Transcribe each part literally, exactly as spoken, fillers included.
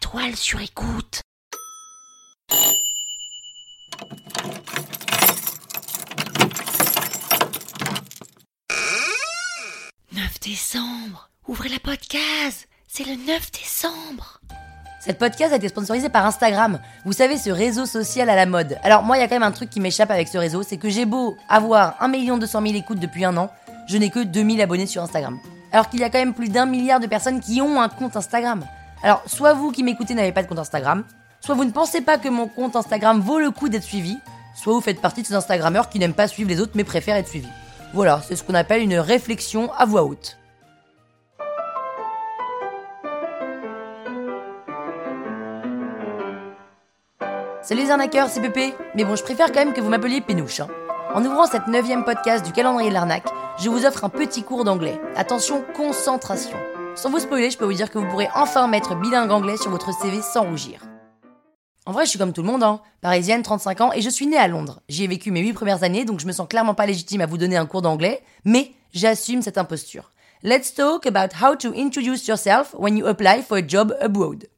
toile sur écoute. neuf décembre. Ouvrez la podcast. C'est le neuf décembre. Cette podcast a été sponsorisée par Instagram. Vous savez, ce réseau social à la mode. Alors moi, il y a quand même un truc qui m'échappe avec ce réseau, c'est que j'ai beau avoir un million deux cent mille écoutes depuis un an, je n'ai que deux mille abonnés sur Instagram. Alors qu'il y a quand même plus d'un milliard de personnes qui ont un compte Instagram. Alors, soit vous qui m'écoutez n'avez pas de compte Instagram, soit vous ne pensez pas que mon compte Instagram vaut le coup d'être suivi, soit vous faites partie de ces Instagrammeurs qui n'aiment pas suivre les autres mais préfèrent être suivis. Voilà, c'est ce qu'on appelle une réflexion à voix haute. Salut les arnaqueurs, c'est Pépé. Mais bon, je préfère quand même que vous m'appeliez Pénouche. Hein. En ouvrant cette neuvième podcast du calendrier de l'arnaque, je vous offre un petit cours d'anglais. Attention, concentration. Sans vous spoiler, je peux vous dire que vous pourrez enfin mettre bilingue anglais sur votre C V sans rougir. En vrai, je suis comme tout le monde, hein. Parisienne, trente-cinq ans, et je suis née à Londres. J'y ai vécu mes huit premières années, donc je me sens clairement pas légitime à vous donner un cours d'anglais, mais j'assume cette imposture. Let's talk about how to introduce yourself when you apply for a job abroad.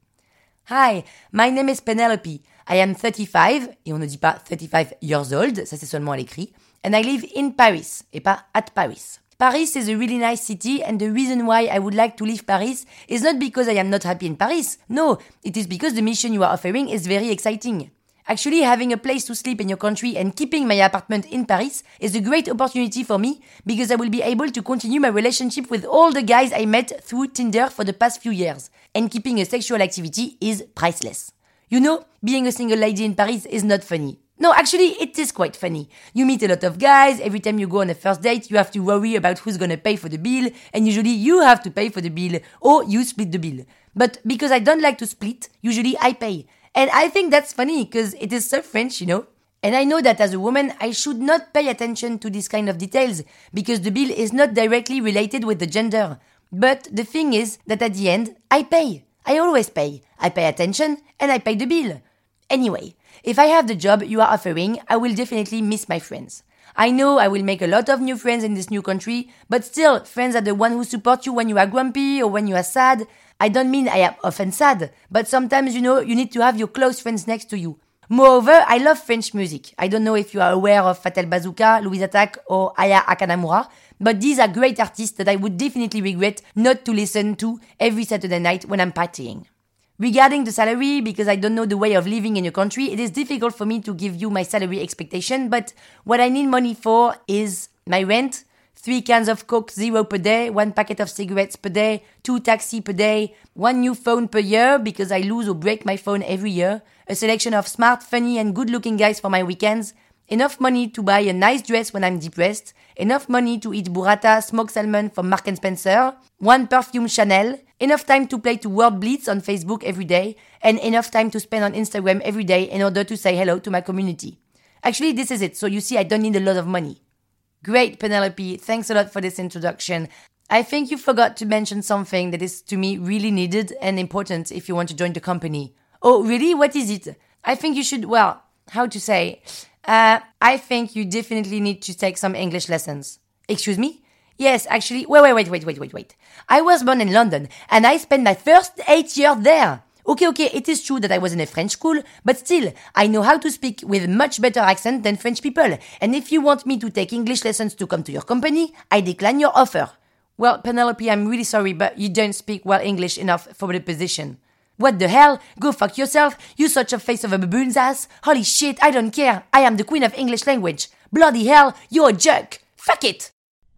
Hi, my name is Penelope. I am thirty-five, et on ne dit pas thirty-five years old, ça c'est seulement à l'écrit, and I live in Paris, et pas at Paris. Paris is a really nice city, and the reason why I would like to leave Paris is not because I am not happy in Paris. No, it is because the mission you are offering is very exciting. Actually, having a place to sleep in your country and keeping my apartment in Paris is a great opportunity for me because I will be able to continue my relationship with all the guys I met through Tinder for the past few years. And keeping a sexual activity is priceless. You know, being a single lady in Paris is not funny. No, actually, it is quite funny. You meet a lot of guys, every time you go on a first date, you have to worry about who's gonna pay for the bill, and usually you have to pay for the bill, or you split the bill. But because I don't like to split, usually I pay. And I think that's funny, because it is so French, you know? And I know that as a woman, I should not pay attention to this kind of details, because the bill is not directly related with the gender. But the thing is that at the end, I pay. I always pay. I pay attention, and I pay the bill. Anyway, if I have the job you are offering, I will definitely miss my friends. I know I will make a lot of new friends in this new country, but still, friends are the one who support you when you are grumpy or when you are sad. I don't mean I am often sad, but sometimes, you know, you need to have your close friends next to you. Moreover, I love French music. I don't know if you are aware of Fatal Bazooka, Louise Attaque, or Aya Akanamura, but these are great artists that I would definitely regret not to listen to every Saturday night when I'm partying. Regarding the salary, because I don't know the way of living in your country, it is difficult for me to give you my salary expectation, but what I need money for is my rent, three cans of Coke Zero per day, one packet of cigarettes per day, two taxis per day, one new phone per year because I lose or break my phone every year, a selection of smart, funny and good-looking guys for my weekends, enough money to buy a nice dress when I'm depressed, enough money to eat burrata, smoked salmon from Mark and Spencer, one perfume Chanel, enough time to play to World Blitz on Facebook every day, and enough time to spend on Instagram every day in order to say hello to my community. Actually, this is it, so you see I don't need a lot of money. Great, Penelope, thanks a lot for this introduction. I think you forgot to mention something that is to me really needed and important if you want to join the company. Oh, really? What is it? I think you should, well, how to say... Uh, I think you definitely need to take some English lessons. Excuse me? Yes, actually, wait, wait, wait, wait, wait, wait, wait. I was born in London, and I spent my first eight years there. Okay, okay, it is true that I was in a French school, but still, I know how to speak with much better accent than French people. And if you want me to take English lessons to come to your company, I decline your offer. Well, Penelope, I'm really sorry, but you don't speak well English enough for the position. What the hell? Go fuck yourself, you such a face of a baboon's ass. Holy shit, I don't care. I am the queen of English language. Bloody hell, you're a jerk. Fuck it!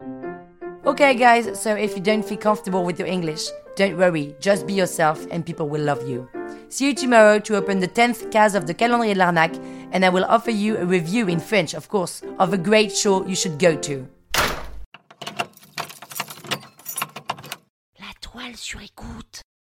Okay guys, so if you don't feel comfortable with your English, don't worry, just be yourself and people will love you. See you tomorrow to open the tenth case of the Calendrier de l'Arnaque, and I will offer you a review in French, of course, of a great show you should go to. La toile sur écoute.